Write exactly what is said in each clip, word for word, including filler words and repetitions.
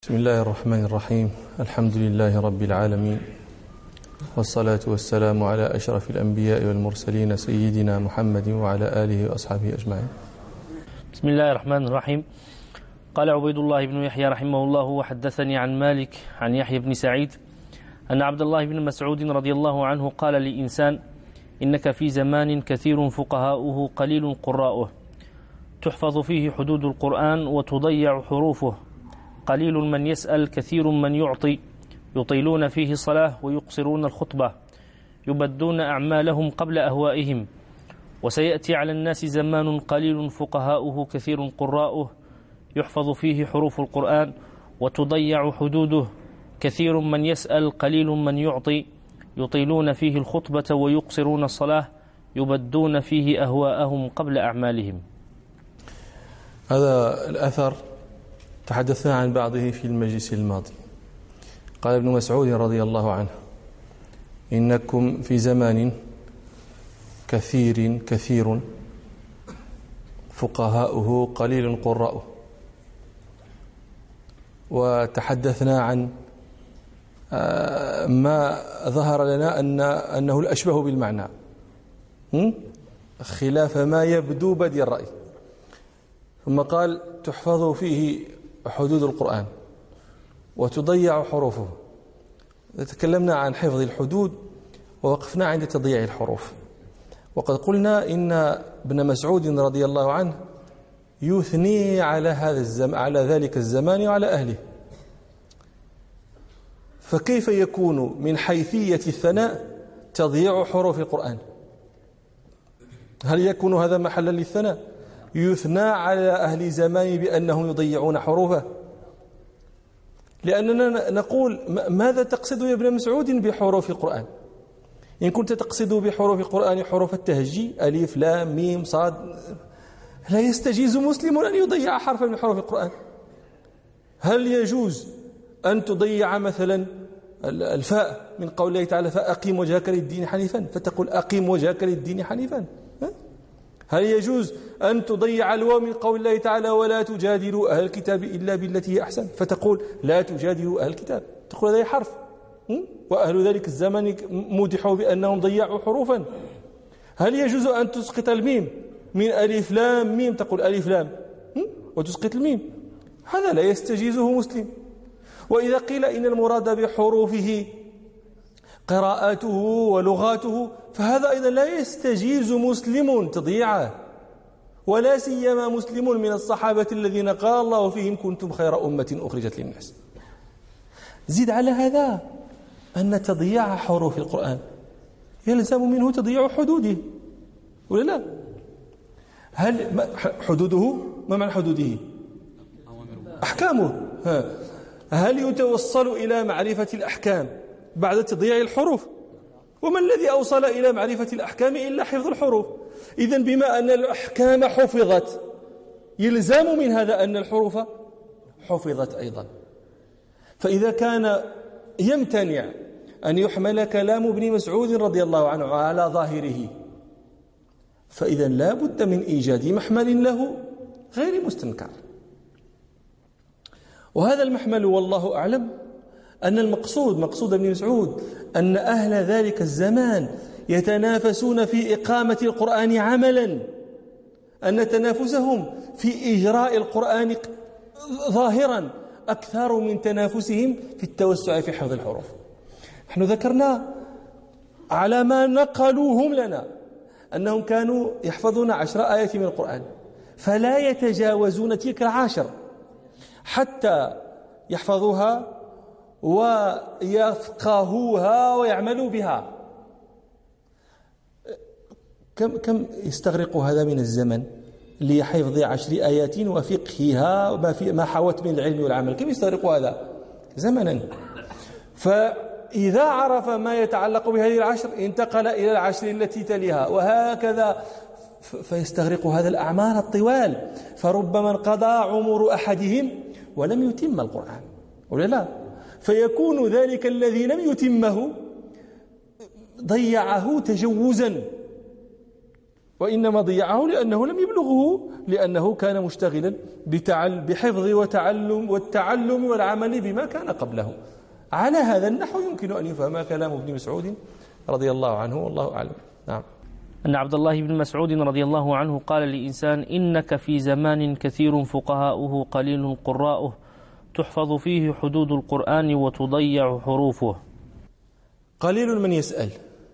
بسم الله الرحمن الرحيم. الحمد لله رب العالمين، والصلاة والسلام على أشرف الأنبياء والمرسلين سيدنا محمد وعلى آله وأصحابه أجمعين. بسم الله الرحمن الرحيم. قال عبيد الله بن يحيى رحمه الله: وحدثني عن مالك عن يحيى بن سعيد أن عبد الله بن مسعود رضي الله عنه قال لإنسان: إنك في زمان كثير فقهاؤه قليل قراؤه، تحفظ فيه حدود القرآن وتضيع حروفه، قليل من يسأل كثير من يعطي، يطيلون فيه صلاة ويقصرون الخطبة، يبدون أعمالهم قبل أهوائهم. وسيأتي على الناس زمان قليل فقهاؤه كثير قراؤه، يحفظ فيه حروف القرآن وتضيع حدوده، كثير من يسأل قليل من يعطي، يطيلون فيه الخطبة ويقصرون الصلاة، يبدون فيه أهواءهم قبل أعمالهم. هذا الأثر تحدثنا عن بعضه في المجلس الماضي. قال ابن مسعود رضي الله عنه: إنكم في زمان كثير كثير فقهاؤه قليل قراؤه. وتحدثنا عن ما ظهر لنا أن أنه الأشبه بالمعنى خلاف ما يبدو بدي الرأي. ثم قال: تحفظ فيه حدود القرآن وتضيع حروفه. تكلمنا عن حفظ الحدود ووقفنا عند تضييع الحروف، وقد قلنا إن ابن مسعود رضي الله عنه يثني على هذا الزمان، على ذلك الزمان وعلى أهله. فكيف يكون من حيثية الثناء تضييع حروف القرآن؟ هل يكون هذا محلا للثناء؟ يثنى على أهل زمان بأنهم يضيعون حروفه؟ لأننا نقول: ماذا تقصد يا ابن مسعود بحروف القرآن؟ إن كنت تقصد بحروف القرآن حروف التهجي ألف لام ميم صاد، لا يستجيز مسلم أن يضيع حرفا من حروف القرآن. هل يجوز أن تضيع مثلا الفاء من قول الله تعالى: فأقيم وجهك للدين حنيفا، فتقول أقيم وجهك للدين حنيفا؟ هل يجوز أن تضيع الواو من قول الله تعالى: ولا تجادلوا أهل الكتاب إلا بالتي هي أحسن، فتقول لا تجادلوا أهل الكتاب؟ تقول هذا حرف، وأهل ذلك الزمن مدحوا بأنهم ضيعوا حروفا. هل يجوز أن تسقط الميم من ألف لام ميم، تقول ألف لام وتسقط الميم؟ هذا لا يستجيزه مسلم. وإذا قيل إن المراد بحروفه قراءاته ولغاته، فهذا أيضا لا يستجيز مسلم تضييعه، ولا سيما مسلم من الصحابة الذين قال الله فيهم: كنتم خير أمة أخرجت للناس. زد على هذا أن تضييع حروف القرآن يلزم منه تضييع حدوده، ولا لا؟ هل حدوده، ما معنى حدوده؟ أحكامه. هل يتوصل إلى معرفة الأحكام بعد تضييع الحروف؟ وما الذي أوصل إلى معرفة الأحكام إلا حفظ الحروف؟ إذن بما أن الأحكام حفظت يلزم من هذا أن الحروف حفظت أيضا. فإذا كان يمتنع أن يحمل كلام ابن مسعود رضي الله عنه على ظاهره، فإذا لا بد من إيجاد محمل له غير مستنكر. وهذا المحمل والله أعلم أن المقصود مقصود ابن مسعود أن أهل ذلك الزمان يتنافسون في إقامة القرآن عملا، أن تنافسهم في إجراء القرآن ظاهرا أكثر من تنافسهم في التوسع في حفظ الحروف. نحن ذكرنا على ما نقلوهم لنا أنهم كانوا يحفظون عشر آيات من القرآن، فلا يتجاوزون تلك العشر حتى يحفظوها ويفقهوها ويعملوا بها. كم كم يستغرق هذا من الزمن لحفظ عشر آيات وفقهها وما في ما حوت من العلم والعمل؟ كم يستغرق هذا زمنا؟ فإذا عرف ما يتعلق بهذه العشر انتقل إلى العشر التي تليها، وهكذا فيستغرق هذا الأعمار الطوال. فربما انقضى عمر أحدهم ولم يتم القرآن، ولا لا؟ فيكون ذلك الذي لم يتمه ضيعه تجوزا، وإنما ضيعه لأنه لم يبلغه، لأنه كان مشتغلا بحفظ وتعلم والتعلم والعمل بما كان قبله. على هذا النحو يمكن أن يفهم كلام ابن مسعود رضي الله عنه، والله أعلم. نعم. أن عبد الله بن مسعود رضي الله عنه قال لإنسان: إنك في زمان كثير فقهاؤه قليل قراؤه، تحفظ فيه حدود القرآن وتضيع حروفه. قليل من يسأل،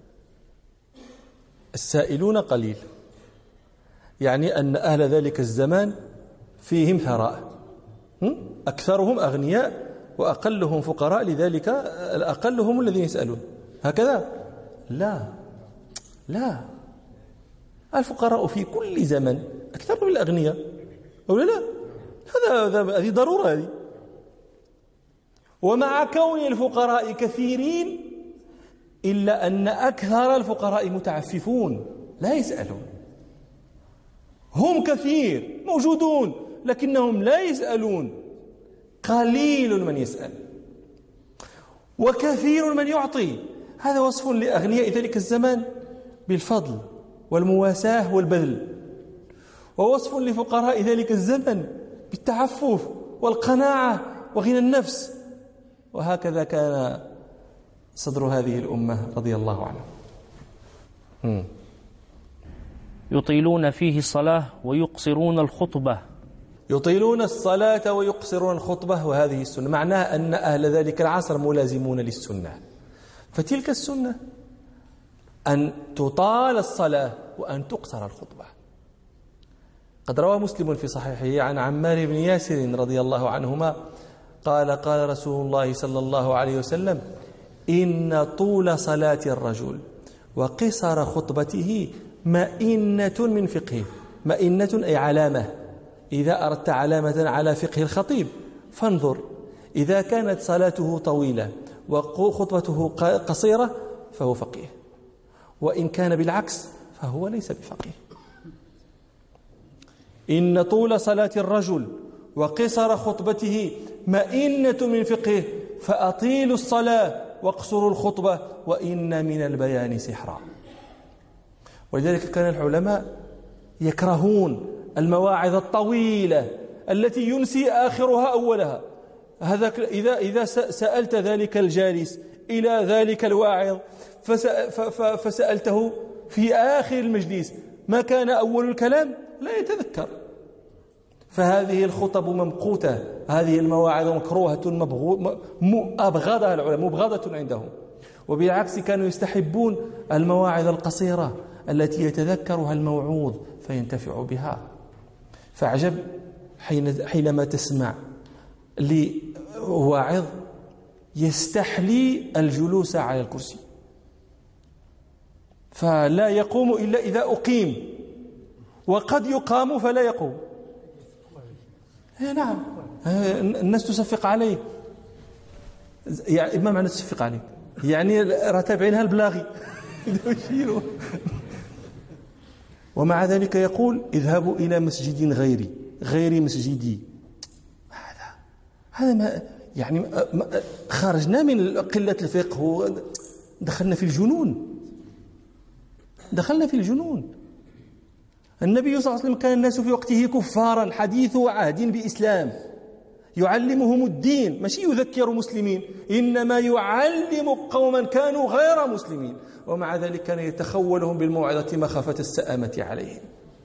السائلون قليل، يعني أن أهل ذلك الزمان فيهم ثراء، أكثرهم أغنياء وأقلهم فقراء، لذلك الأقل هم الذين يسألون. هكذا؟ لا لا، الفقراء في كل زمن أكثر من الأغنياء، أو لا؟ هذا هذه ضرورة هذه. ومع كون الفقراء كثيرين إلا أن أكثر الفقراء متعففون لا يسألون. هم كثير موجودون لكنهم لا يسألون، قليل من يسأل وكثير من يعطي. هذا وصف لأغنياء ذلك الزمان بالفضل والمواساة والبذل، ووصف لفقراء ذلك الزمن بالتعفف والقناعة وغنى النفس. وهكذا كان صدر هذه الأمة رضي الله عنه. م. يطيلون فيه الصلاة ويقصرون الخطبة. يطيلون الصلاة ويقصرون الخطبة، وهذه السنة، معناها أن أهل ذلك العصر ملازمون للسنة. فتلك السنة أن تطال الصلاة وأن تقصر الخطبة. قد روى مسلم في صحيحه عن عمار بن ياسر رضي الله عنهما قال: قال رسول الله صلى الله عليه وسلم: إن طول صلاة الرجل وقصر خطبته مئنة من فقهه. مئنة أي علامة. إذا أردت علامة على فقه الخطيب فانظر، إذا كانت صلاته طويلة وخطبته قصيرة فهو فقيه، وإن كان بالعكس فهو ليس بفقيه. إن طول صلاة الرجل وقصر خطبته مئنة من فقهه، فأطيلوا الصلاة واقصروا الخطبة وإن من البيان سحرا. ولذلك كان العلماء يكرهون المواعظ الطويلة التي ينسي آخرها أولها. هذا إذا إذا سألت ذلك الجالس إلى ذلك الواعظ فسألته في آخر المجلس ما كان أول الكلام لا يتذكر. فهذه الخطب ممقوتة، هذه المواعظ مكروهة أبغضها العلماء، مبغضة عندهم. وبالعكس كانوا يستحبون المواعظ القصيرة التي يتذكرها الموعوظ فينتفع بها. فعجب حين حينما تسمع لواعظ يستحلي الجلوس على الكرسي، فلا يقوم إلا إذا أقيم، وقد يقام فلا يقوم. نعم، الناس تصفق عليه. يعني ما معنى تصفق عليه؟ يعني راتبعينها البلاغي. ومع ذلك يقول: اذهبوا إلى مسجد غيري غير مسجدي. هذا هذا ما يعني خرجنا من قلة الفقه ودخلنا في الجنون، دخلنا في الجنون. النبي صلى الله عليه وسلم كان الناس في وقته كفارا حديث عهد بإسلام، يعلمهم الدين، ماشي يذكر مسلمين، إنما يعلم قوما كانوا غير مسلمين، ومع ذلك كان يتخولهم بالموعظة مخافة السآمة عليهم.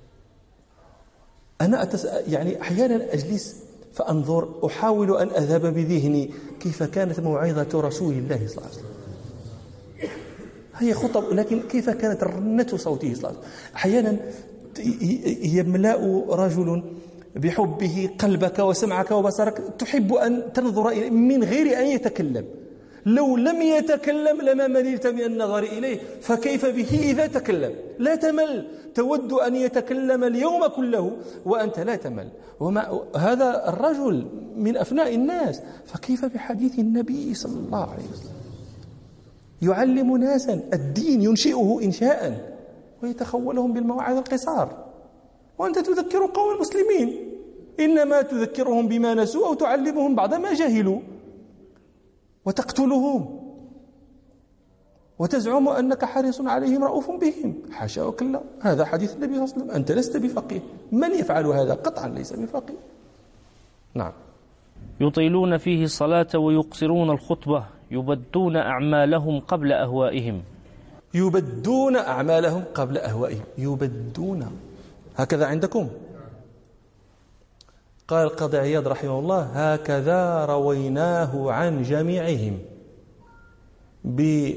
أنا أتس... يعني أحيانا أجلس فأنظر، أحاول أن أذهب بذهني كيف كانت موعظة رسول الله صلى الله عليه وسلم. هي خطب، لكن كيف كانت رنة صوته صلى الله عليه وسلم. أحيانا يملأ رجل بحبه قلبك وسمعك وبصرك، تحب أن تنظر من غير أن يتكلم. لو لم يتكلم لما مللت من النظر إليه، فكيف به إذا تكلم؟ لا تمل، تود أن يتكلم اليوم كله وأنت لا تمل. وما هذا الرجل من أفناء الناس، فكيف بحديث النبي صلى الله عليه وسلم؟ يعلم ناسا الدين، ينشئه إنشاء ويتخولهم بالمواعظ القصار، وأنت تذكر قوم المسلمين، إنما تذكرهم بما نسوا أو تعلمهم بعض ما جهلوا وتقتلهم. وتزعم أنك حريص عليهم رؤوف بهم. حاشا وكلا، هذا حديث النبي صلى الله عليه وسلم، أنت لست بفقيه. من يفعل هذا قطعا ليس بفقيه. نعم. يطيلون فيه الصلاة ويقصرون الخطبة، يبدون أعمالهم قبل أهوائهم. يبدون أعمالهم قبل أهوائهم. يبدون هكذا عندكم؟ قال القاضي عياض رحمه الله: هكذا رويناه عن جميعهم ب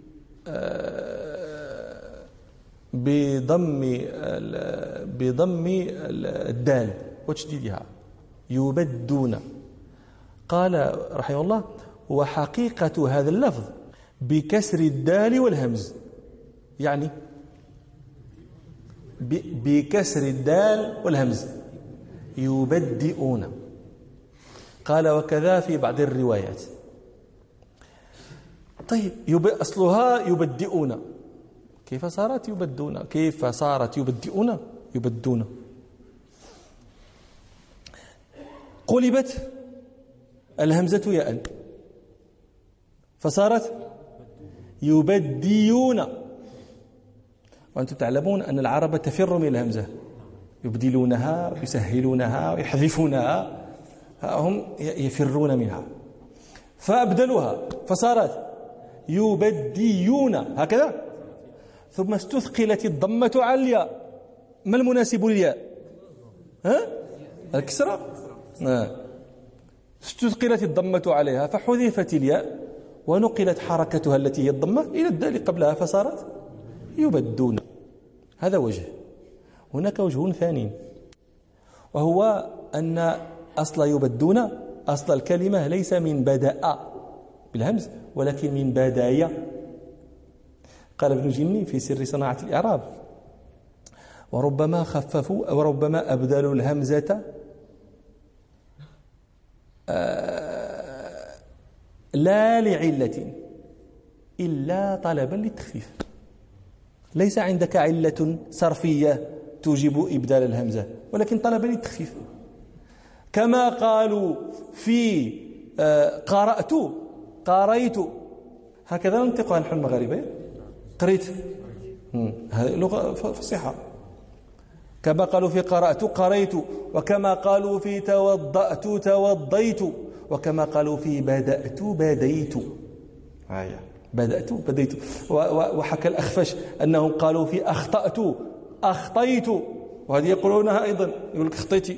بضم بضم الدال وتشديدها، يبدون. قال رحمه الله: وحقيقة هذا اللفظ بكسر الدال والهمز، يعني بكسر الدال والهمز، يبدئون. قال: وكذا في بعض الروايات. طيب، يب... أصلها يبدئون، كيف صارت يبدون؟ كيف صارت يبدئون؟ يبدون. قلبت الهمزة ياء فصارت يبديون. وأنتم تعلمون أن العرب تفر من الهمزة، يبدلونها ويسهلونها ويحذفونها، هم يفرون منها، فأبدلوها فصارت يبديون هكذا. ثم استثقلت الضمة على الياء. ما المناسب للياء؟ ها؟ الكسرة. آه. استثقلت الضمة عليها فحذفت الياء ونقلت حركتها التي هي الضمة إلى الدال قبلها فصارت يبدون. هذا وجه. هناك وجه ثاني، وهو أن أصل يبدون، أصل الكلمة ليس من بدأ بالهمز ولكن من بداية. قال ابن جني في سر صناعة الإعراب: وربما خففوا وربما أبدلوا الهمزة آه لا لعلة إلا طلبا للتخفيف. ليس عندك علة صرفية توجب إبدال الهمزة، ولكن طلبا للتخفيف. كما قالوا في آه قرأت قريت، هكذا ننطقها نحن المغاربة. قريت، هذه لغة فصيحة. كما قالوا في قرأت قريت، وكما قالوا في توضأت توضيت، وكما قالوا في بدأت بديت. هيا بدأت بديت. وحكى الأخفش أنهم قالوا في أخطأت أخطيت، وهذه يقولونها أيضا، يقول لك خطيتي.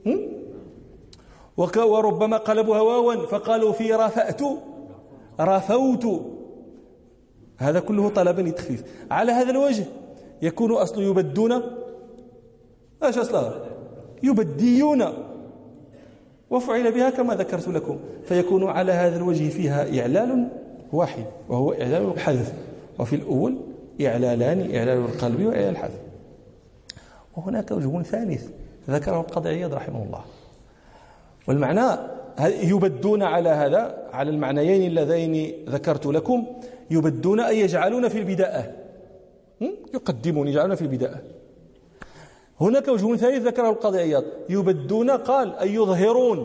وربما قلبوها واوا فقالوا في رفأت رفوت. هذا كله طلبا للتخفيف. على هذا الوجه يكون أصل يبدون ايش أصلها؟ يبديون، وفعل بها كما ذكرت لكم، فيكون على هذا الوجه فيها إعلال واحد وهو إعلال الحذف، وفي الأول إعلالان، إعلال القلب وإعلال الحذف. وهناك وجه ثالث ذكره القاضي عياض رحمه الله، والمعنى يبدون على هذا، على المعنيين اللذين ذكرت لكم. يبدون أي يجعلون في البداءة، يقدمون، يجعلون في البداءة. هناك وجه ثالث ذكره القاضي عياض: يبدون قال أي يظهرون،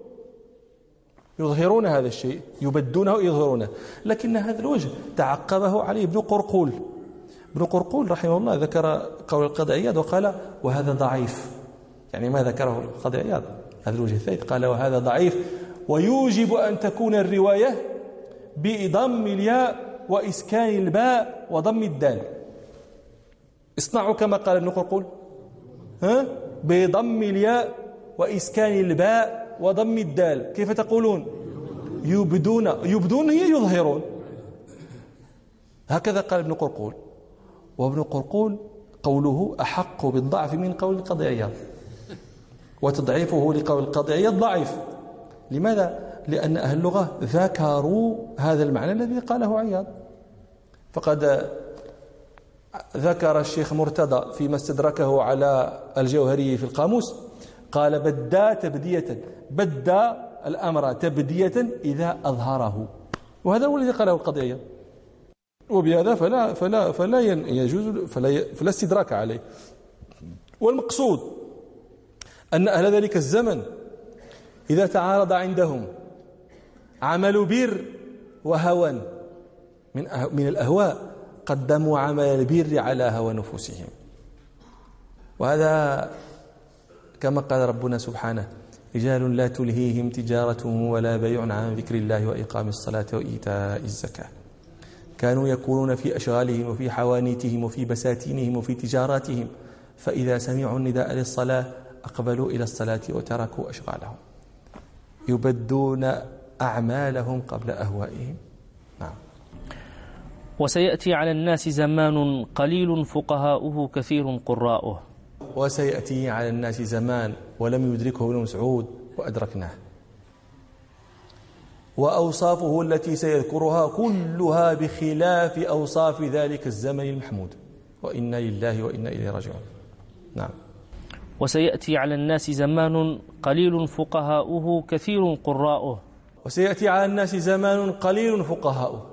يظهرون هذا الشيء، يبدونه يظهرونه. لكن هذا الوجه تعقبه عليه ابن قرقول. ابن قرقول رحمه الله ذكر قول القاضي عياض وقال: وهذا ضعيف. يعني ما ذكره القاضي عياض هذا الوجه الثالث، قال: وهذا ضعيف، ويوجب أن تكون الرواية بضم الياء وإسكان الباء وضم الدال. اصنعوا كما قال ابن قرقول، ها؟ بضم الياء وإسكان الباء وضم الدال. كيف تقولون؟ يبدون. يبدون هي يظهرون، هكذا قال ابن قرقول. وابن قرقول قوله أحق بالضعف من قول القاضي عياض، وتضعيفه لقول القاضي عياض ضعيف. لماذا؟ لأن أهل اللغة ذكروا هذا المعنى الذي قاله عياض. فقد ذكر الشيخ مرتضى فيما استدركه على الجوهري في القاموس، قال: بدا تبدية، بدا الأمر تبدية إذا أظهره. وهذا هو الذي قاله القاضي عياض، وبهذا فلا فلا فلا يجوز فلا, فلا استدراك عليه. والمقصود أن أهل ذلك الزمن إذا تعارض عندهم عمل بر وهوى، من من الأهواء قدموا عمل البر على هوى نفوسهم. وهذا كما قال ربنا سبحانه: رجال لا تلهيهم تجارة ولا بيع عن ذكر الله وإقام الصلاة وإيتاء الزكاة، كانوا يكونون في أشغالهم وفي حوانيتهم وفي بساتينهم وفي تجاراتهم، فإذا سمعوا النداء للصلاة أقبلوا إلى الصلاة وتركوا أشغالهم، يبدون أعمالهم قبل أهوائهم. نعم. وسيأتي على الناس زمان قليل فقهاؤه كثير قراؤه. وسيأتي على الناس زمان ولم يدركه ابن مسعود وأدركناه، وأوصافه التي سيذكرها كلها بخلاف أوصاف ذلك الزمن المحمود، وإنا لله وإنا إليه راجعون. نعم. وسيأتي على الناس زمان قليل فقهاؤه كثير قراؤه. وسيأتي على الناس زمان قليل فقهاؤه.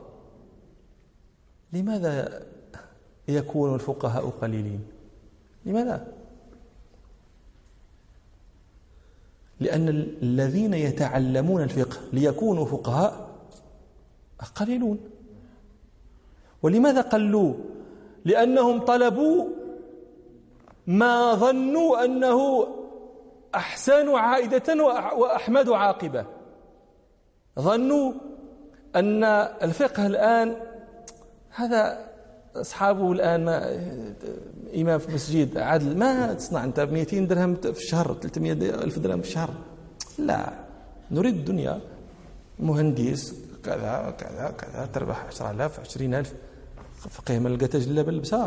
لماذا يكون الفقهاء قليلين؟ لماذا؟ لأن الذين يتعلمون الفقه ليكونوا فقهاء قليلون. ولماذا قلوا؟ لأنهم طلبوا ما ظنوا أنه أحسن عائدة وأحمد عاقبة. ظنوا أن الفقه الآن هذا أصحابه الآن ما إمام في مسجد عدل ما تصنع أنت بمئتين درهم في الشهر، ثلاثمئة ألف درهم في الشهر. لا، نريد الدنيا. مهندس كذا كذا كذا تربح عشرة آلاف عشرين ألف، فقيه ما لقى تجلى بالبساء،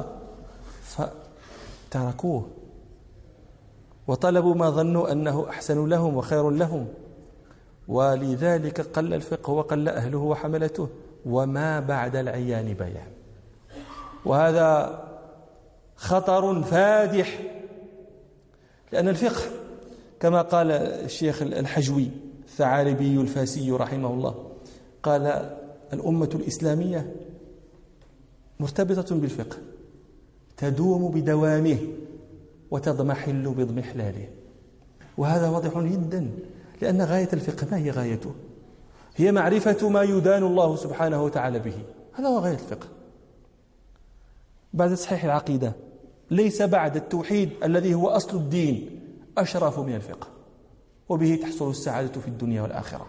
فتركوه وطلبوا ما ظنوا أنه أحسن لهم وخير لهم، ولذلك قل الفقه وقل أهله وحملته، وما بعد العيان بيان. وهذا خطر فادح، لأن الفقه كما قال الشيخ الحجوي الثعالبي الفاسي رحمه الله، قال: الأمة الإسلامية مرتبطة بالفقه، تدوم بدوامه وتضمحل بضمحلاله. وهذا واضح جدا، لأن غاية الفقه ما هي غايته؟ هي معرفة ما يدان الله سبحانه وتعالى به. هذا هو غاية الفقه. بعد تصحيح العقيدة ليس بعد التوحيد الذي هو أصل الدين أشرف من الفقه، وبه تحصل السعادة في الدنيا والآخرة.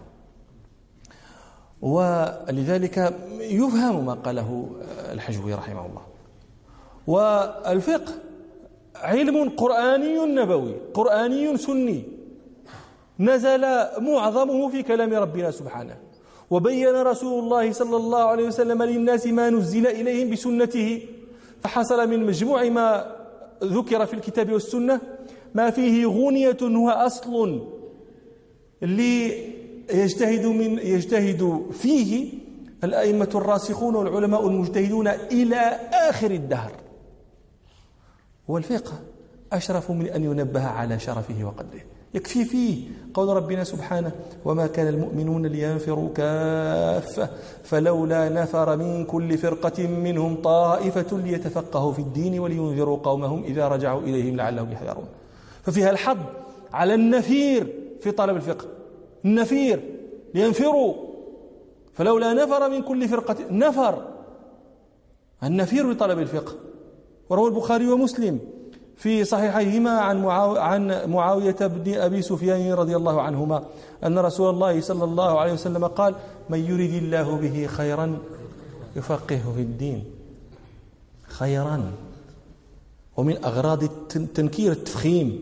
ولذلك يفهم ما قاله الحجوي رحمه الله. والفقه علم قرآني نبوي قرآني سني، نزل معظمه في كلام ربنا سبحانه، وبين رسول الله صلى الله عليه وسلم للناس ما نزل إليهم بسنته، فحصل من مجموع ما ذكر في الكتاب والسنة ما فيه غنية هو أصل ليجتهد من يجتهد فيه الأئمة الراسخون والعلماء المجتهدون إلى آخر الدهر. والفقه أشرف من أن ينبه على شرفه وقدره. يكفي فيه قول ربنا سبحانه: وما كان المؤمنون لينفروا كافة فلولا نفر من كل فرقة منهم طائفة ليتفقهوا في الدين ولينذروا قومهم إذا رجعوا إليهم لعلهم يحذرون. ففيها الحض على النفير في طلب الفقه، النفير لينفروا، فلولا نفر من كل فرقة، نفر النفير لطلب الفقه. وروى البخاري ومسلم في صحيحيهما عن عن معاوية بن أبي سفيان رضي الله عنهما أن رسول الله صلى الله عليه وسلم قال: من يريد الله به خيرا يفقهه في الدين. خيرا. ومن أغراض التنكير التفخيم،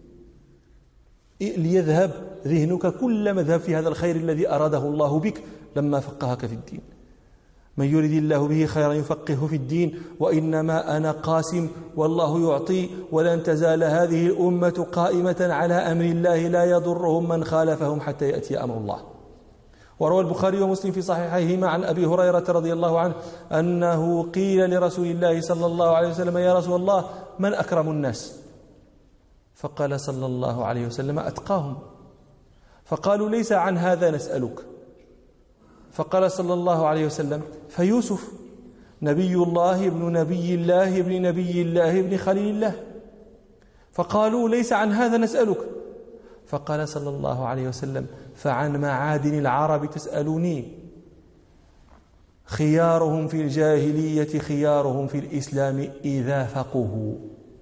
ليذهب ذهنك كل مذهب في هذا الخير الذي أراده الله بك لما فقهك في الدين. من يريد الله به خيرا يفقهه في الدين، وإنما أنا قاسم والله يعطي، ولن تزال هذه الأمة قائمة على أمر الله لا يضرهم من خالفهم حتى يأتي أمر الله. وروى البخاري ومسلم في صحيحيهما عن أبي هريرة رضي الله عنه أنه قيل لرسول الله صلى الله عليه وسلم: يا رسول الله من أكرم الناس؟ فقال صلى الله عليه وسلم: أتقاهم. فقالوا: ليس عن هذا نسألك. فقال صلى الله عليه وسلم: فيوسف نبي الله ابن نبي الله ابن نبي الله ابن خليل الله. فقالوا: ليس عن هذا نسألك. فقال صلى الله عليه وسلم: فعن معادن العرب تسألوني. خيارهم في الجاهلية خيارهم في الإسلام إذا فقهوا.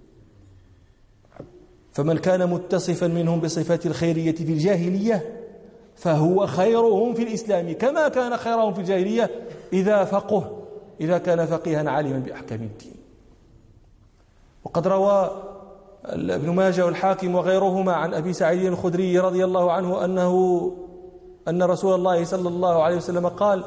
فمن كان متصفا منهم بصفات الخيرية في الجاهلية فهو خيرهم في الإسلام كما كان خيرهم في الجاهلية إذا فقه إذا كان فقيها عالما بأحكام الدين. وقد روى ابن ماجه والحاكم وغيرهما عن أبي سعيد الخدري رضي الله عنه أنه أن رسول الله صلى الله عليه وسلم قال: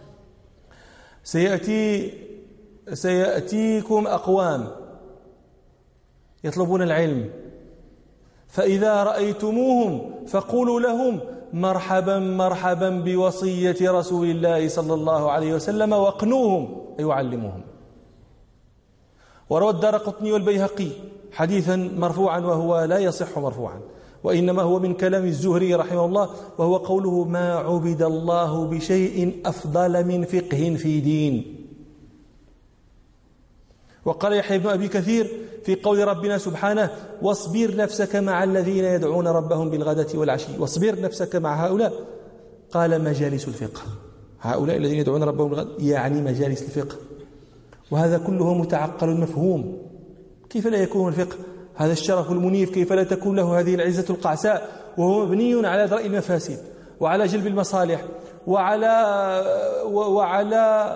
سيأتي سيأتيكم أقوام يطلبون العلم، فإذا رأيتموهم فقولوا لهم: مرحبا مرحبا بوصية رسول الله صلى الله عليه وسلم، واقنوهم يعلمهم. وروى الدارقطني والبيهقي حديثا مرفوعا وهو لا يصح مرفوعا، وإنما هو من كلام الزهري رحمه الله، وهو قوله: ما عبد الله بشيء أفضل من فقه في دين. وقال يحيى بن أبي كثير في قول ربنا سبحانه: واصبر نفسك مع الذين يدعون ربهم بالغداة والعشي. واصبر نفسك مع هؤلاء، قال مجالس الفقه. هؤلاء الذين يدعون ربهم بالغداة يعني مجالس الفقه، وهذا كله متعقل مفهوم. كيف لا يكون الفقه هذا الشرف المنيف؟ كيف لا تكون له هذه العزة القعساء وهو مبني على درء المفاسد وعلى جلب المصالح وعلى وعلى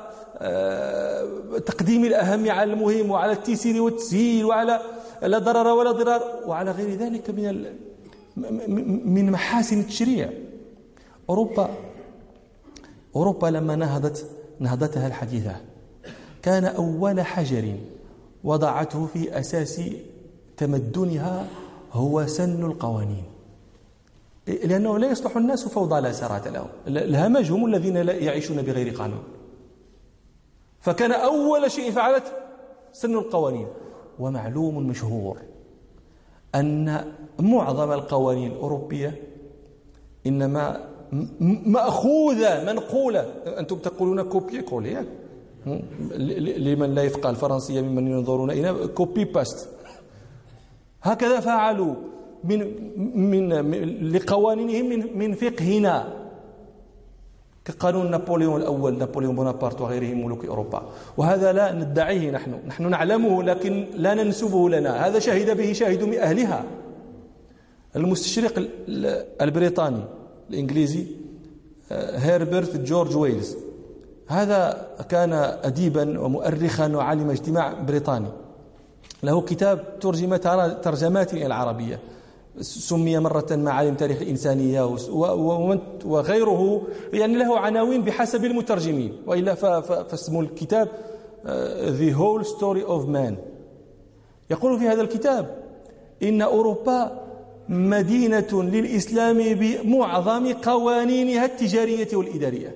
تقديم الأهم على المهم وعلى التيسير والتسهيل وعلى لا ضرر ولا ضرار وعلى غير ذلك من من محاسن التشريع. أوروبا أوروبا لما نهضت نهضتها الحديثة كان أول حجر وضعته في أساس تمدنها هو سن القوانين، لأنه لا يصلح الناس فوضى لا سرات لهم. الهمج هم الذين لا يعيشون بغير قانون، فكان أول شيء فعلت سن القوانين. ومعلوم مشهور أن معظم القوانين الأوروبية إنما مأخوذة منقولة. أنتم تقولون كوبي كولي لمن لا يفقه الفرنسية ممن ينظرون إلى كوبي باست. هكذا فعلوا من من لقوانينهم من من فقهنا، كقانون نابليون الأول، نابليون بونابرت وغيرهم ملوك أوروبا. وهذا لا ندعيه نحن نحن نعلمه لكن لا ننسبه لنا، هذا شهد به شاهد من أهلها. المستشرق البريطاني الإنجليزي هيربرت جورج ويلز، هذا كان أديبا ومؤرخا وعالم اجتماع بريطاني، له كتاب ترجم ترجمات إلى العربية، سمي مرة معالم تاريخ الإنسانية وغيره، يعني له عناوين بحسب المترجمين، وإلا فاسم الكتاب The Whole Story of Man. يقول في هذا الكتاب إن أوروبا مدينة للإسلام بمعظم قوانينها التجارية والإدارية.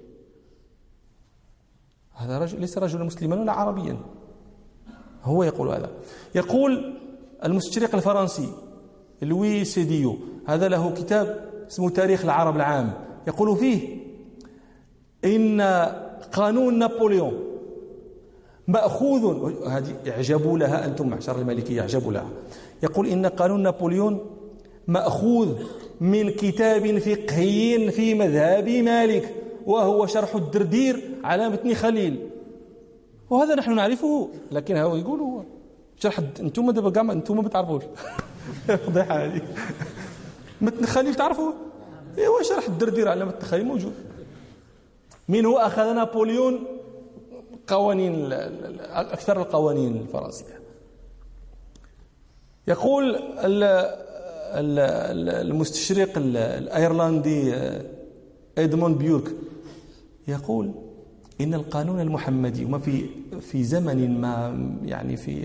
هذا رجل ليس رجلا مسلما ولا عربيا، هو يقول هذا. يقول المستشرق الفرنسي لوي سيديو، هذا له كتاب اسمه تاريخ العرب العام، يقول فيه إن قانون نابليون مأخوذ، هذه اعجبوا لها أنتم معشر المالكية، اعجبوا لها. يقول إن قانون نابليون مأخوذ من كتاب فقهي في مذهب مالك، وهو شرح الدردير على متن خليل. وهذا نحن نعرفه، لكن هو يقول هو شرح انتم دابا كاع انتم ما بتعرفوش. فضيحه هذه. متن خليل تعرفوه؟ ايوا شرح الدردير على متن خليل موجود. منه اخذ نابليون قوانين اكثر القوانين الفرنسيه. يقول المستشرق الايرلندي إدموند بيورك، يقول إن القانون المحمدي وما في في زمن ما، يعني في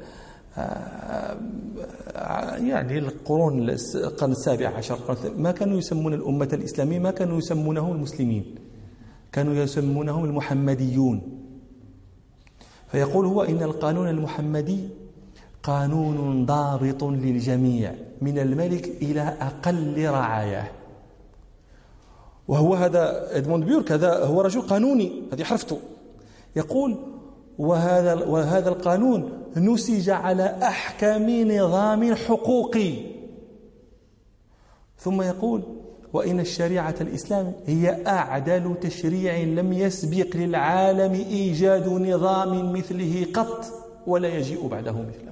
يعني القرون القرن السابع عشر، ما كانوا يسمون الأمة الإسلامية، ما كانوا يسمونهم المسلمين، كانوا يسمونهم المحمديون. فيقول هو إن القانون المحمدي قانون ضابط للجميع من الملك إلى أقل رعاياه. وهو هذا إدموند بيورك، هذا هو رجل قانوني، هذه حرفته. يقول وهذا وهذا القانون نسج على أحكم نظام حقوقي. ثم يقول وإن الشريعة الإسلام هي أعدل تشريع لم يسبق للعالم إيجاد نظام مثله قط ولا يجيء بعده مثله.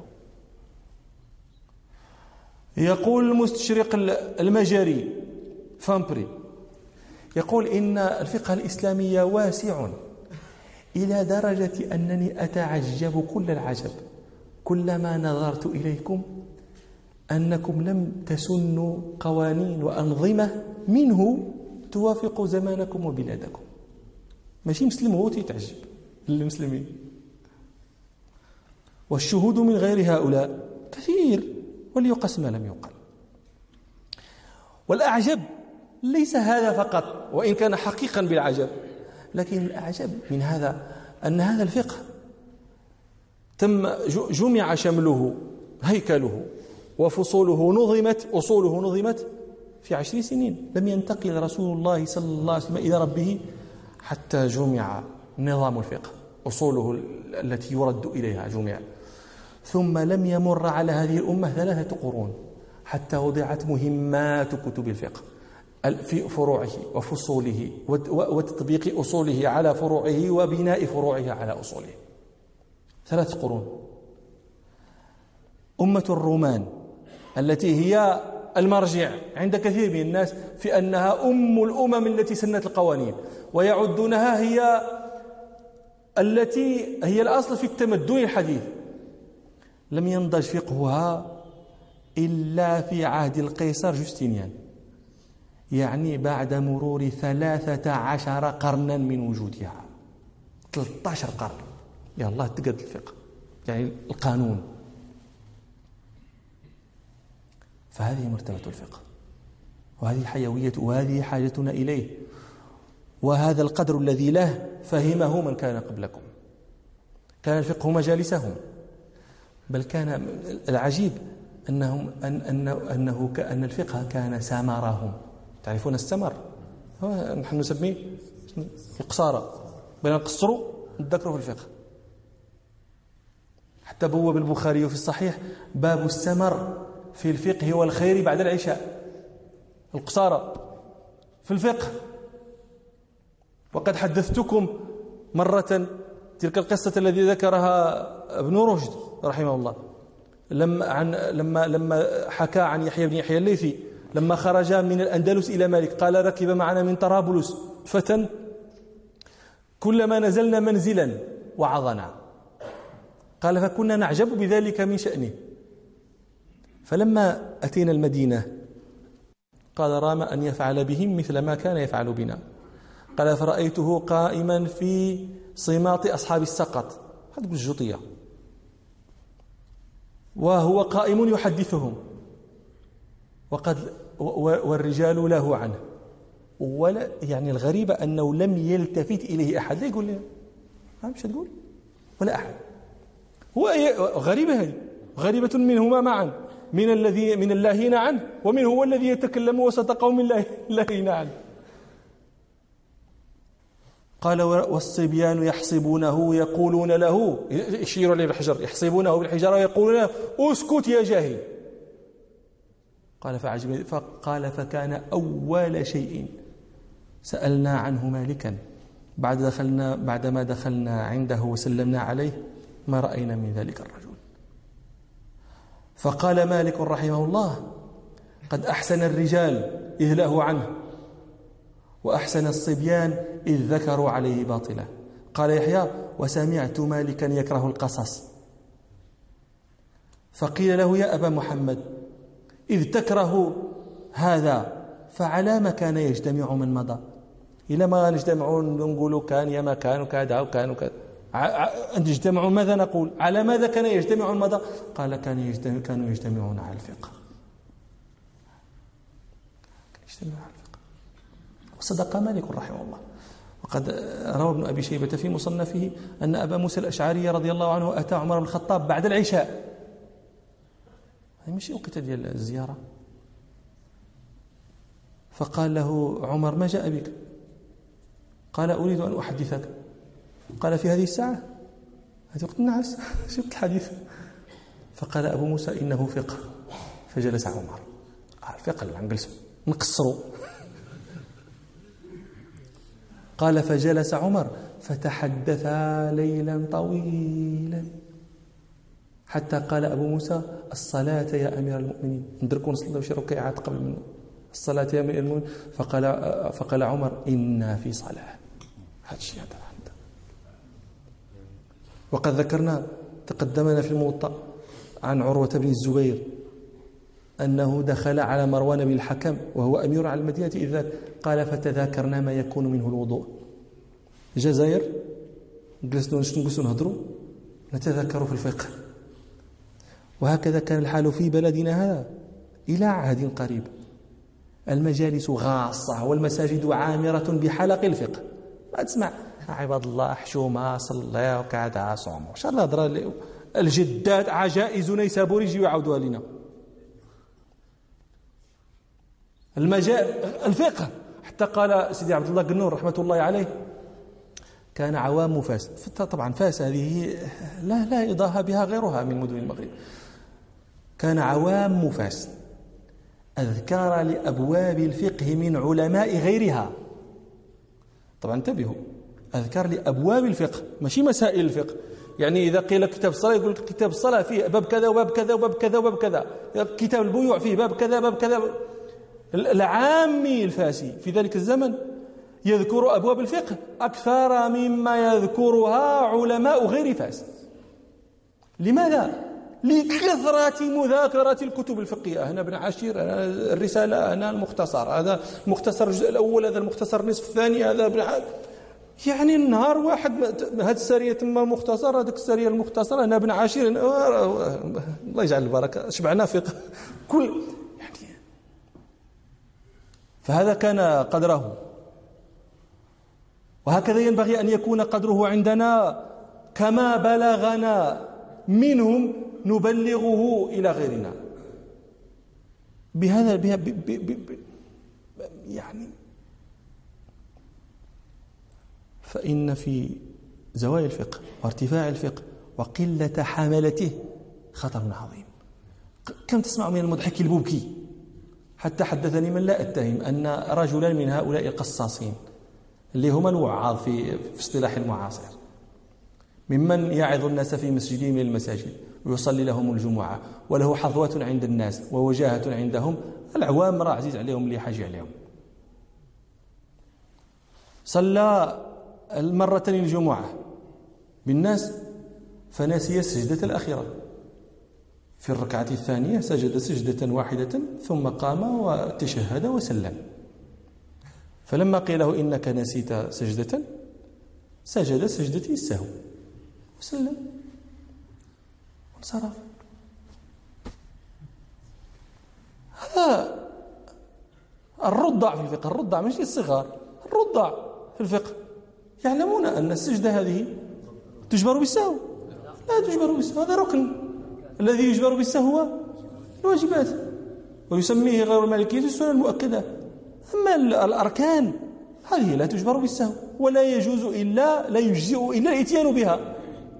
يقول المستشرق المجري فامبري، يقول إن الفقه الإسلامي واسع إلى درجة أنني أتعجب كل العجب كلما نظرت إليكم أنكم لم تسنوا قوانين وأنظمة منه توافق زمانكم وبلادكم. ماشي مسلم هو تيتعجب للمسلمين، والشهود من غير هؤلاء كثير وليقس ما لم يقل. والأعجب ليس هذا فقط وإن كان حقيقا بالعجب، لكن الأعجب من هذا أن هذا الفقه تم جمع شمله هيكله وفصوله نظمت أصوله نظمت في عشر سنين. لم ينتقل رسول الله صلى الله عليه وسلم إلى ربه حتى جمع نظام الفقه، أصوله التي يرد إليها جمع. ثم لم يمر على هذه الأمة ثلاثة قرون حتى وضعت مهمات كتب الفقه في فروعه وفصوله وتطبيق أصوله على فروعه وبناء فروعه على أصوله. ثلاث قرون. أمة الرومان التي هي المرجع عند كثير من الناس في أنها أم الأمم التي سنت القوانين، ويعدونها هي التي هي الأصل في التمدن الحديث، لم ينضج فقهها إلا في عهد القيصر جوستينيان، يعني بعد مرور ثلاثة عشر قرنا من وجودها. ثلاثة عشر قرن يا الله تقد الفقه يعني القانون. فهذه مرتبة الفقه، وهذه حيوية، وهذه حاجتنا إليه، وهذا القدر الذي له فهمه من كان قبلكم. كان الفقه مجالسهم، بل كان العجيب أنهم أن أنه أنه كأن الفقه كان سمرهم. تعرفون السمر؟ نحن نسميه القصارى، بين نقصروا نذكروا في الفقه. حتى بوب البخاري في الصحيح باب السمر في الفقه والخير بعد العشاء، القصارى في الفقه. وقد حدثتكم مرة تلك القصة التي ذكرها ابن رشد رحمه الله لما عن لما لما حكى عن يحيى بن يحيى الليثي لما خرج من الأندلس إلى مالك، قال ركب معنا من طرابلس فتى كلما نزلنا منزلا وعظنا، قال فكنا نعجب بذلك من شأنه. فلما أتينا المدينة قال رام أن يفعل بهم مثل ما كان يفعل بنا. قال فرأيته قائما في صماط أصحاب السقط، هذه الجطية، وهو قائم يحدثهم، وقد والرجال له عنه، ولا يعني الغريب أنه لم يلتفت إليه أحد. لا يقول لي مش تقول ولا أحد. هو غريبة، هذه غريبة منهما معا، من الذي من اللاهين عنه ومن هو الذي يتكلم وسط قوم اللاهين عنه. قال والصبيان يحسبونه يقولون له، يشير إليه بالحجر، يحسبونه بالحجارة ويقولون له اسكت يا جاهل. قال فعجب فقال فكان أول شيء سألنا عنه مالكا بعد دخلنا بعدما دخلنا عنده وسلمنا عليه ما رأينا من ذلك الرجل. فقال مالك رحمه الله قد أحسن الرجال إذ لهوا عنه، وأحسن الصبيان إذ ذكروا عليه باطلا. قال يحيى وسمعت مالكا يكره القصص، فقيل له يا أبا محمد إذ تكره هذا فعلى ما كان يجتمع من مضى؟ إلى ما نجتمعون نقول كان يا ما كان وكذا وكان وكذا، أن تجتمعوا ماذا نقول؟ على ماذا كان يجتمع المضى؟ قال كان يجتمع كانوا يجتمعون على الفقه. يجتمعون على الفقه. وصدق مالك رحمه الله. وقد روى ابن أبي شيبة في مصنفه أن أبا موسى الأشعري رضي الله عنه أتى عمر بن الخطاب بعد العشاء، هذه مش وقت ديال الزيارة، فقال له عمر ما جاء بك؟ قال أريد أن أحدثك. قال في هذه الساعة؟ هذه وقت النعاس شفت الحديث. فقال أبو موسى إنه فقه. فجلس عمر. الفقه اللي نجلسوا نقصروا قال فجلس عمر فتحدثا ليلا طويلا حتى قال أبو موسى الصلاة يا أمير المؤمنين، ندركوا نصلي شي ركعات قبل منه، الصلاة يا أمير المؤمنين. فقال فقال عمر إنا في صلاة. هذا الشيء هذا. وقد ذكرنا تقدمنا في الموطأ عن عروة بن الزبير أنه دخل على مروان بن الحكم وهو أمير على المدينة إذ ذاك، قال فتذاكرنا ما يكون منه الوضوء. الجزائر جلسنا نجلسوا نهضروا نتذكروا في الفقه، وهكذا كان الحال في بلدنا هذا إلى عهد قريب. المجالس غاصة والمساجد عامرة بحلق الفقه. ما تسمع عباد الله حشومة صلى وكذا صوم وش الله هضره الجدات عجائز نيسابوري يجيو يعاودوها لنا. المجال الفقه حتى قال سيدي عبد الله قنور رحمة الله عليه كان عوام فاس. طبعا فاس هذه لا لا يضاهى بها غيرها من مدن المغرب. كان عوام فاس أذكار لأبواب الفقه من علماء غيرها. طبعا انتبهوا، أذكار لأبواب الفقه ماشي مسائل الفقه. يعني إذا قيل كتاب الصلاة يقول لك كتاب الصلاة فيه باب كذا وباب كذا وباب كذا وباب كذا، كتاب البيوع فيه باب كذا باب كذا. العامي الفاسي في ذلك الزمن يذكر أبواب الفقه أكثر مما يذكرها علماء غير فاس. لماذا؟ لكثرة مذاكرة الكتب الفقهية. هنا ابن عاشير، هنا الرسالة، هنا المختصر، هذا المختصر الجزء الأول، هذا المختصر النصف الثاني، هذا ابن عاشير. يعني النهار واحد هذه السرية تم مختصر، هذيك السرية المختصرة، هنا ابن عاشير. الله يجعل البركة، شبعنا فقه كل يعني. فهذا كان قدره، وهكذا ينبغي أن يكون قدره عندنا. كما بلغنا منهم نبلغه إلى غيرنا. بهذا بها ب ب ب يعني فإن في زوايا الفقه وارتفاع الفقه وقلة حملته خطر عظيم. كم تسمع من المضحك البوكي. حتى حدثني من لا أتهم أن رجلا من هؤلاء القصاصين اللي هم الوعاظ في في اصطلاح المعاصر، ممن يعظ الناس في مسجده من المساجد ويصلي لهم الجمعة وله حظوة عند الناس ووجاهة عندهم، العوام راه عزيز عليهم اللي حاجة عليهم. صلى المرتين الجمعة بالناس فنسي السجدة الأخيرة. في الركعة الثانية سجد سجدة واحدة ثم قام وتشهد وسلم. فلما قيل له إنك نسيت سجدة سجد سجدة السهو وسلم وانصرف. هذا الرضع في الفقه، الرضع مش الصغار، الرضع في الفقه يعلمون أن السجدة هذه تجبر بالسهو. لا تجبر بالسهو، هذا ركن. الذي يجبر بالسهو هو الواجبات، ويسميه غير المالكية السنن المؤكدة. أما الأركان هذه لا تجبر بالسهو، ولا يجوز إلا لا يجزئ إلا الإتيان بها.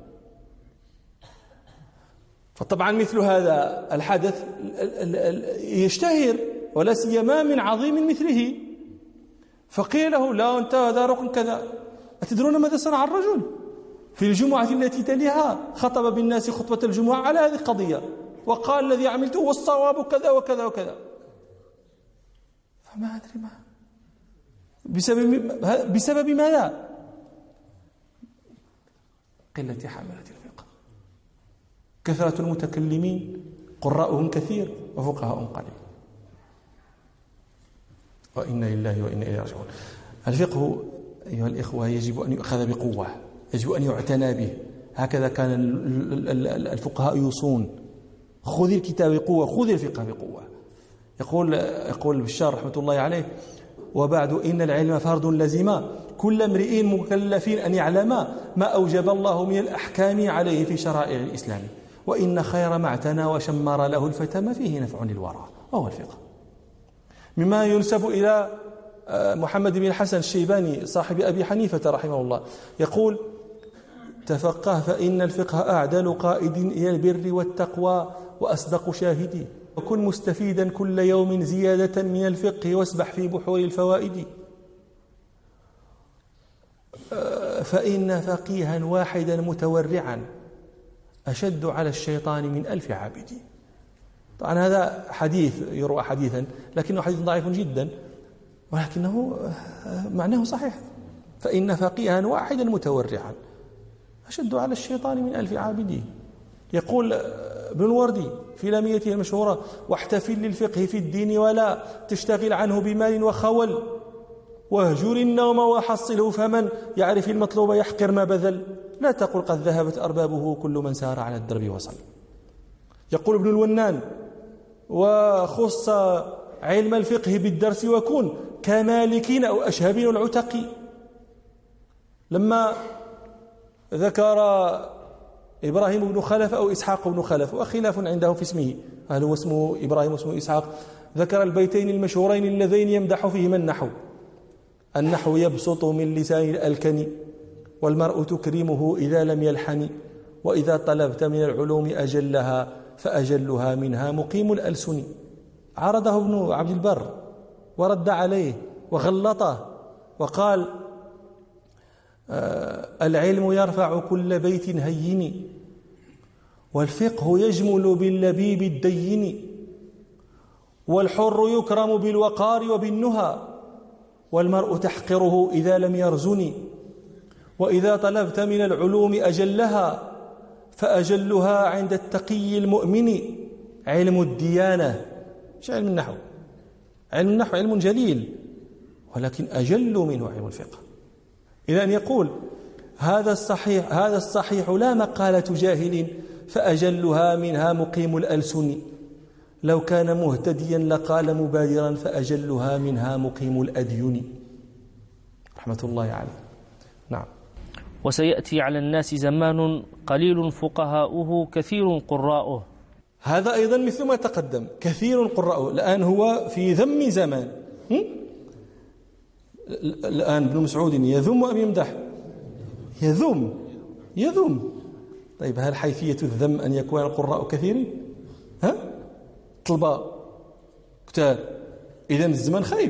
فطبعا مثل هذا الحدث يشتهر ولا سيما من عظيم مثله. فقيل له لا أنت هذا ركن كذا. أتدرون ماذا صنع الرجل؟ في الجمعة التي تليها خطب بالناس خطبة الجمعة على هذه القضية وقال الذي عملته هو الصواب كذا وكذا وكذا. فما أدري ما بسبب بسبب ماذا؟ قلة حملة الفقه. كثرة المتكلمين قراءهم كثير وفقهاءهم قليل. وإنا لله وإنا إليه راجعون. الفقه أيها الإخوة يجب أن يؤخذ بقوة، يجب أن يعتنى به. هكذا كان الفقهاء يوصون: خذ الكتاب بقوة، خذ الفقه بقوة. يقول يقول بشار رحمة الله عليه: وبعد إن العلم فرض لزم كل امرئ مكلف أن يعلم ما أوجب الله من الأحكام عليه في شرائع الإسلام، وإن خير ما اعتنى وشمر له الفتى ما فيه نفع للورى، وهو الفقه. مما ينسب إلى محمد بن الحسن الشيباني صاحب أبي حنيفة رحمه الله يقول: تفقه فإن الفقه أعدل قائد إلى البر والتقوى وأصدق شاهدي، وكن مستفيدا كل يوم زيادة من الفقه واسبح في بحور الفوائد. فإن فقيها واحدا متورعا أشد على الشيطان من ألف عابد. طبعا هذا حديث يروى حديثا لكنه حديث ضعيف جدا، ولكنه معناه صحيح. فإن فقيها واحدا متورعا أشد على الشيطان من ألف عابد. يقول ابن الوردي في لاميته المشهورة: واحتفل للفقه في الدين ولا تشتغل عنه بمال وخول، واهجر النوم وحصله، فمن يعرف المطلوب يحقر ما بذل، لا تقل قد ذهبت أربابه كل من سار على الدرب وصل. يقول ابن الونان: وخص علم الفقه بالدرس وكن كمالكين أو أشهبين العتق. لما ذكر إبراهيم بن خلف أو إسحاق بن خلف، وخلاف عندهم في اسمه، هل هو اسمه إبراهيم واسمه إسحاق، ذكر البيتين المشهورين اللذين يمدح فيهما النحو: النحو يبسط من لسان الألكن، والمرء تكرمه إذا لم يلحن، وإذا طلبت من العلوم أجلها فأجلها منها مقيم الألسن. عرضه ابن عبد البر ورد عليه وغلطه وقال: آه العلم يرفع كل بيت هين، والفقه يجمل باللبيب الدين، والحر يكرم بالوقار وبالنهى، والمرء تحقره إذا لم يرزن، وإذا طلبت من العلوم أجلها فأجلها عند التقي المؤمن علم الديانة. مش علم النحو، علم النحو علم جليل، ولكن أجل منه علم الفقه. إلى أن يقول: هذا الصحيح هذا الصحيح لا مقالة جاهل، فأجلها منها مقيم الألسن، لو كان مهتديا لقال مبادرا، فأجلها منها مقيم الأدين. رحمة الله عليه. نعم. وسيأتي على الناس زمان قليل فقهاؤه كثير قراؤه. هذا أيضا مثل ما تقدم، كثير قراؤه. الآن هو في ذم زمان. الآن ابن مسعود يذم أم يمدح؟ يذم يذم طيب هل حيثية الذم أن يكون القراء كثيرين؟ ها؟ طلبة كتار، إذن الزمان خايب.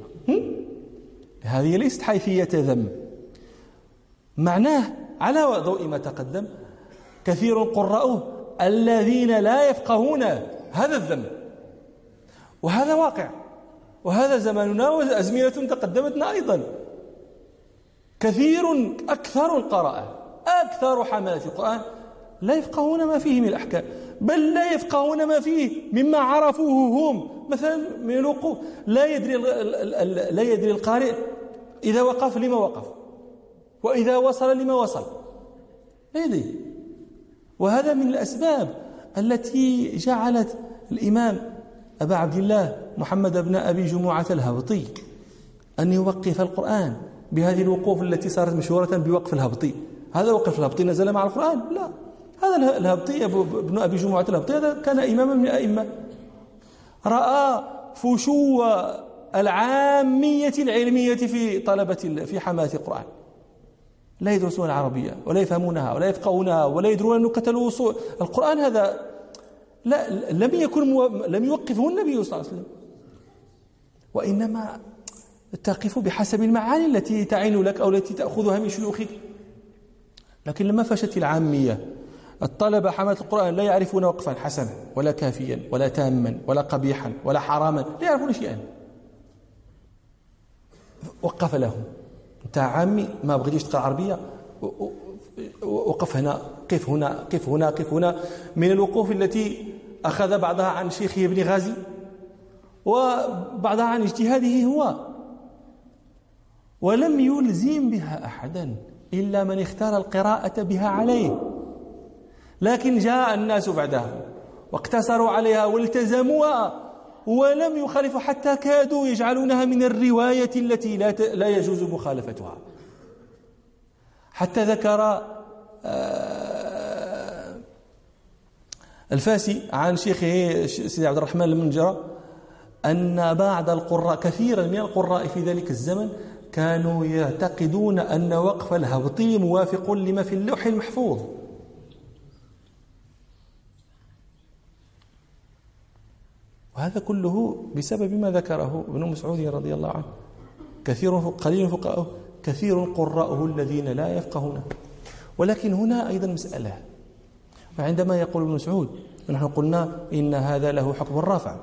هذه ليست حيثية ذم، معناه على ضوء ما تقدم كثير قراءه الذين لا يفقهون هذا الذم، وهذا واقع، وهذا زماننا وأزمنة تقدمتنا أيضا. كثير أكثر القراءة أكثر حملة القرآن لا يفقهون ما فيه من الأحكام، بل لا يفقهون ما فيه مما عرفوه هم، مثلا من الوقوف. لا يدري لا يدري القارئ إذا وقف لما وقف، وإذا وصل لما وصل، لا يدري. وهذا من الأسباب التي جعلت الإمام أبا عبد الله محمد بن أبي جمعة الهبطي أن يوقف القرآن بهذه الوقوف التي صارت مشهورة بوقف الهبطي. هذا وقف الهبطي نزل مع القرآن؟ لا، هذا الهبطي ابن أبي جمعة الهبطي هذا كان إماما من الأئمة، رأى فشو العامية العلمية في طلبة في حماة القرآن، لا يدرسون العربية ولا يفهمونها ولا يفقهونها ولا يدرون نكت الوصول القرآن. هذا لا لم يكن مو... لم يوقفه النبي صلى الله عليه وسلم، وإنما تقف بحسب المعاني التي تعين لك أو التي تأخذها من شيوخك. لكن لما فشت العامية، الطلبة حماة القرآن لا يعرفون وقفا حسنا ولا كافيا ولا تاما ولا قبيحا ولا حراما، لا يعرفون شيئا. وقف لهم: أنت عامي ما بغيتيش تقرأ عربية، وقف هنا، قف هنا، قف هنا، قف هنا، من الوقوف التي أخذ بعضها عن شيخه ابن غازي وبعضها عن اجتهاده هو، ولم يلزم بها أحدا إلا من اختار القراءة بها عليه. لكن جاء الناس بعدها واقتصروا عليها والتزموها ولم يخالفوا، حتى كادوا يجعلونها من الرواية التي لا لا يجوز مخالفتها. حتى ذكر الفاسي عن شيخه سيدي عبد الرحمن المنجرة أن بعض القراء، كثيرا من القراء في ذلك الزمن، كانوا يعتقدون أن وقف الهبطي موافق لما في اللوح المحفوظ. وهذا كله بسبب ما ذكره ابن مسعود رضي الله عنه: كثير قليل فقهاؤه كثير قراءه الذين لا يفقهون. ولكن هنا أيضا مسألة، وعندما يقول ابن مسعود نحن قلنا إن هذا له حكم الرافع،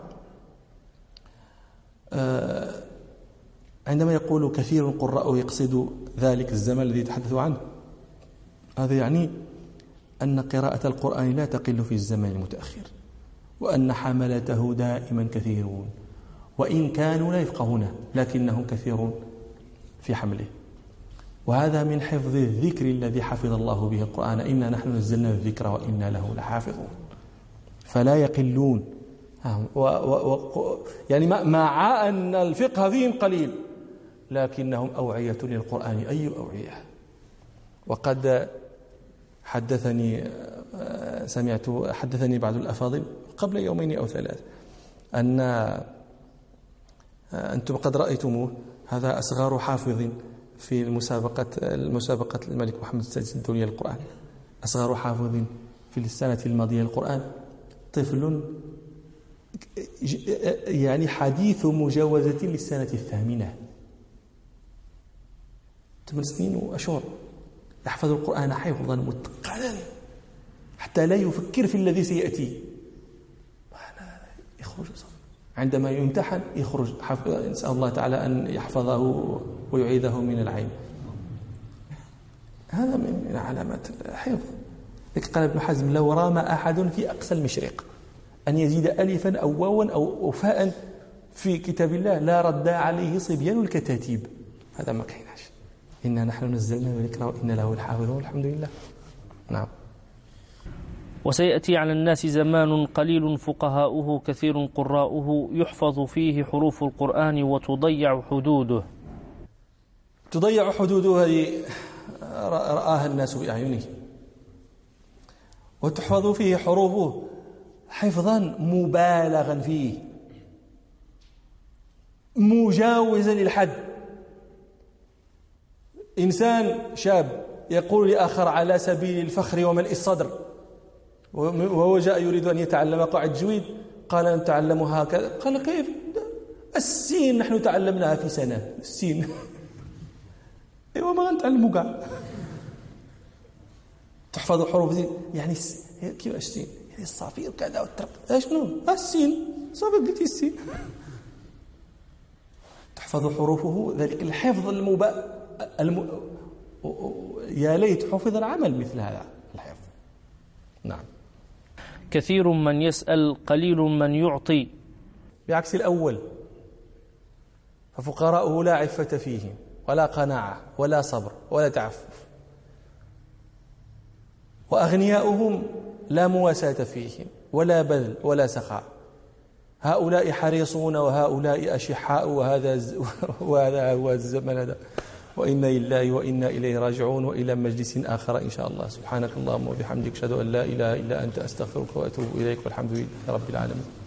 عندما يقول كثير قراءه يقصد ذلك الزمن الذي يتحدث عنه، هذا يعني أن قراءة القرآن لا تقل في الزمن المتأخر، وأن حملته دائما كثيرون، وإن كانوا لا يفقهونه لكنهم كثيرون في حمله. وهذا من حفظ الذكر الذي حفظ الله به القرآن، إنا نحن نزلنا الذكر وإنا له لحافظون، فلا يقلون. و و و يعني مع أن الفقه فيهم قليل لكنهم أوعية للقرآن أي أوعية. وقد حدثني سمعت حدثني بعض الأفاضل قبل يومين أو ثلاث أن أنتم قد رأيتموه، هذا أصغر حافظ في المسابقة المسابقة الملك محمد السادس الدولية للقرآن، أصغر حافظ في السنة الماضية للقرآن، طفل يعني حديث مجاوزة للسنة الثامنة، ثمان سنين وأشهر، يحفظ القرآن حفظا متقنا حتى لا يفكر في الذي سيأتي. يخرج عندما يمتحن يخرج، نسأل الله تعالى أن يحفظه ويعيده من العين. هذا من علامات الحفظ. قال ابن حزم: لو رام أحد في أقصى المشرق أن يزيد ألفا أو واوا أو فاء في كتاب الله لا رد عليه صبيان الكتاتيب. هذا ما كايناش. إنا نحن نزلنا الذكر وإنا له لحافظون، الحمد لله. نعم. وسيأتي على الناس زمان قليل فقهاؤه كثير قراؤه يحفظ فيه حروف القرآن وتضيع حدوده. تضيع حدوده هذه رآها الناس بأعينهم، وتحفظ فيه حروفه حفظا مبالغا فيه مجاوزا للحد. إنسان شاب يقول لآخر على سبيل الفخر وملء الصدر، وهو جاء يريد أن يتعلم قواعد التجويد، قال نتعلمها هكذا. قال: كيف؟ السين نحن تعلمناها في سنة، السين ايوه ما غنتعلموا كاع. تحفظ حروف زين يعني كيف السين يعني الصافير كذا والترق اشنو السين صافي قلتي السين. تحفظ حروفه ذلك الحفظ المبا الم... يا ليت حفظ العمل مثل هذا الحفظ. نعم. كثير من يسأل قليل من يعطي، بعكس الأول، ففقراؤه لا عفة فيهم ولا قناعة ولا صبر ولا تعفف، وأغنياؤهم لا مواساة فيهم ولا بذل ولا سخاء. هؤلاء حريصون وهؤلاء أشحاء، وهذا وهذا هو الزمن هذا. وإنا لله وإنا إليه راجعون، وإلى مجلس آخر إن شاء الله. سبحانك اللهم وبحمدك أشهد أن لا إله إلا أنت أستغفرك وأتوب إليك، والحمد لله رب العالمين.